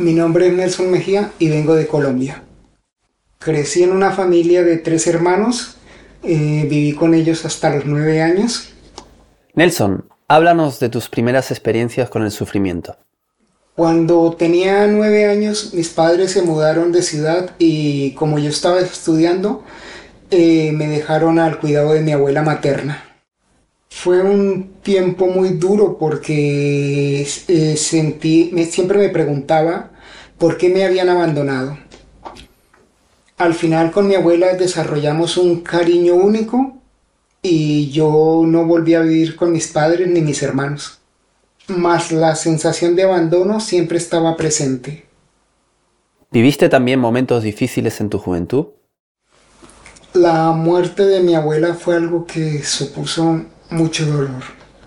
Mi nombre es Nelson Mejía y vengo de Colombia. Crecí en una familia de 3 hermanos, viví con ellos hasta los 9 años. Nelson, háblanos de tus primeras experiencias con el sufrimiento. Cuando tenía 9 años, mis padres se mudaron de ciudad y como yo estaba estudiando, me dejaron al cuidado de mi abuela materna. Fue un tiempo muy duro porque siempre me preguntaba por qué me habían abandonado. Al final con mi abuela desarrollamos un cariño único y yo no volví a vivir con mis padres ni mis hermanos. Mas la sensación de abandono siempre estaba presente. ¿Viviste también momentos difíciles en tu juventud? La muerte de mi abuela fue algo que supuso mucho dolor.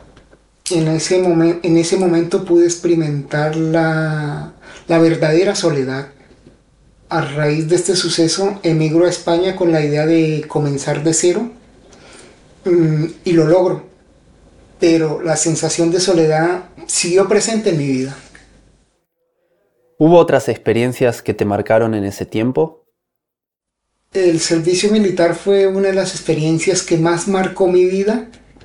En ese momento pude experimentar la verdadera soledad. A raíz de este suceso emigro a España con la idea de comenzar de cero y lo logro, pero la sensación de soledad siguió presente en mi vida. ¿Hubo otras experiencias que te marcaron en ese tiempo? El servicio militar fue una de las experiencias que más marcó mi vida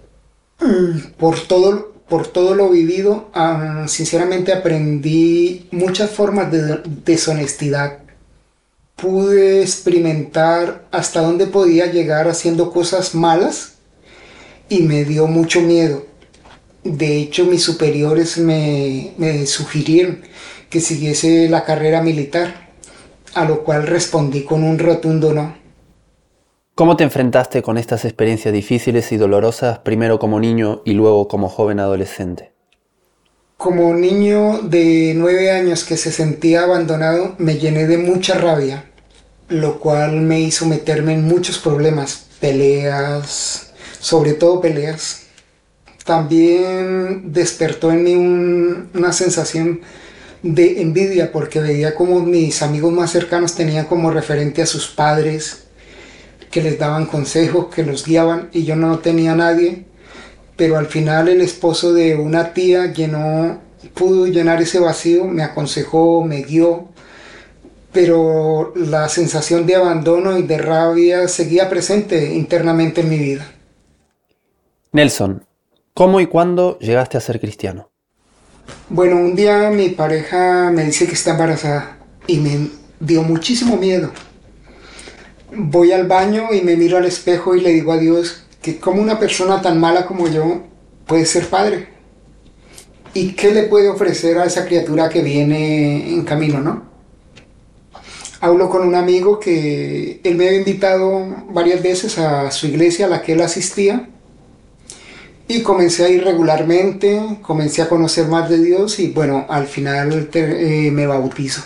por todo lo vivido. Sinceramente aprendí muchas formas de deshonestidad. Pude experimentar hasta dónde podía llegar haciendo cosas malas y me dio mucho miedo. De hecho, mis superiores me sugirieron que siguiese la carrera militar, a lo cual respondí con un rotundo no. ¿Cómo te enfrentaste con estas experiencias difíciles y dolorosas, primero como niño y luego como joven adolescente? Como niño de 9 años que se sentía abandonado, me llené de mucha rabia, lo cual me hizo meterme en muchos problemas, peleas, sobre todo peleas. También despertó en mí una sensación de envidia porque veía como mis amigos más cercanos tenían como referente a sus padres, que les daban consejos, que los guiaban y yo no tenía nadie. Pero al final el esposo de una tía pudo llenar ese vacío, me aconsejó, me guió, pero la sensación de abandono y de rabia seguía presente internamente en mi vida. Nelson, ¿cómo y cuándo llegaste a ser cristiano? Bueno, un día mi pareja me dice que está embarazada y me dio muchísimo miedo. Voy al baño y me miro al espejo y le digo a Dios que como una persona tan mala como yo puede ser padre. ¿Y qué le puede ofrecer a esa criatura que viene en camino, no? Hablo con un amigo que él me había invitado varias veces a su iglesia a la que él asistía y comencé a ir regularmente, comencé a conocer más de Dios y bueno, al final me bautizo.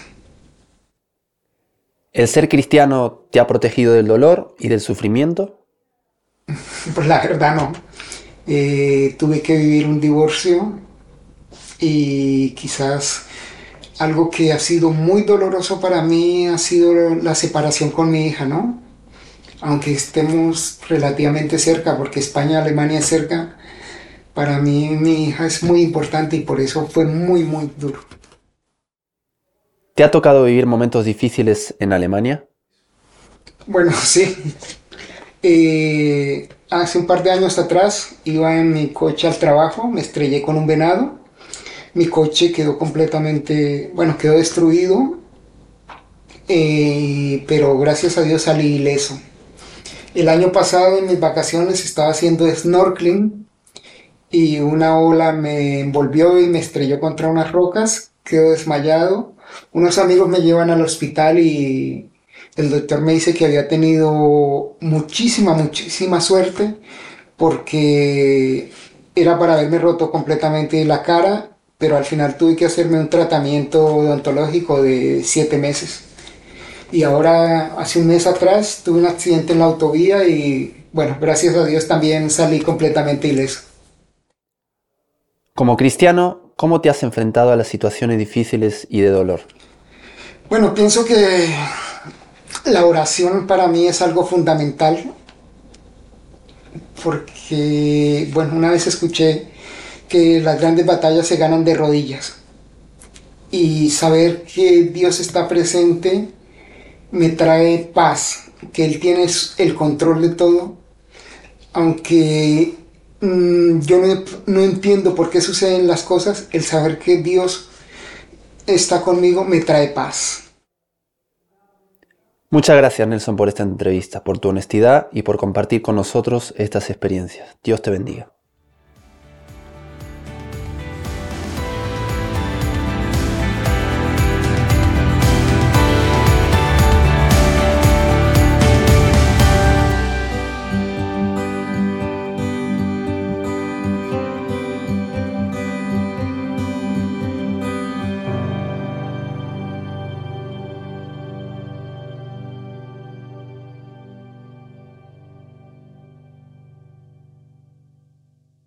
¿El ser cristiano te ha protegido del dolor y del sufrimiento? Pues la verdad no. Tuve que vivir un divorcio y quizás algo que ha sido muy doloroso para mí ha sido la separación con mi hija, ¿no? Aunque estemos relativamente cerca, porque España y Alemania es cerca, para mí mi hija es muy importante y por eso fue muy, muy duro. ¿Te ha tocado vivir momentos difíciles en Alemania? Bueno, sí. Hace un par de años atrás iba en mi coche al trabajo, me estrellé con un venado. Mi coche quedó completamente, bueno, quedó destruido, pero gracias a Dios salí ileso. El año pasado en mis vacaciones estaba haciendo snorkeling y una ola me envolvió y me estrelló contra unas rocas, quedo desmayado. Unos amigos me llevan al hospital y el doctor me dice que había tenido muchísima, muchísima suerte porque era para haberme roto completamente la cara, pero al final tuve que hacerme un tratamiento odontológico de 7 meses. Y ahora, hace un mes atrás, tuve un accidente en la autovía y, bueno, gracias a Dios también salí completamente ileso. Como cristiano, ¿cómo te has enfrentado a las situaciones difíciles y de dolor? Bueno, pienso que la oración para mí es algo fundamental porque, bueno, una vez escuché que las grandes batallas se ganan de rodillas. y saber que Dios está presente me trae paz, que Él tiene el control de todo, aunque yo no entiendo por qué suceden las cosas, el saber que Dios está conmigo me trae paz. Muchas gracias, Nelson, por esta entrevista, por tu honestidad y por compartir con nosotros estas experiencias. Dios te bendiga.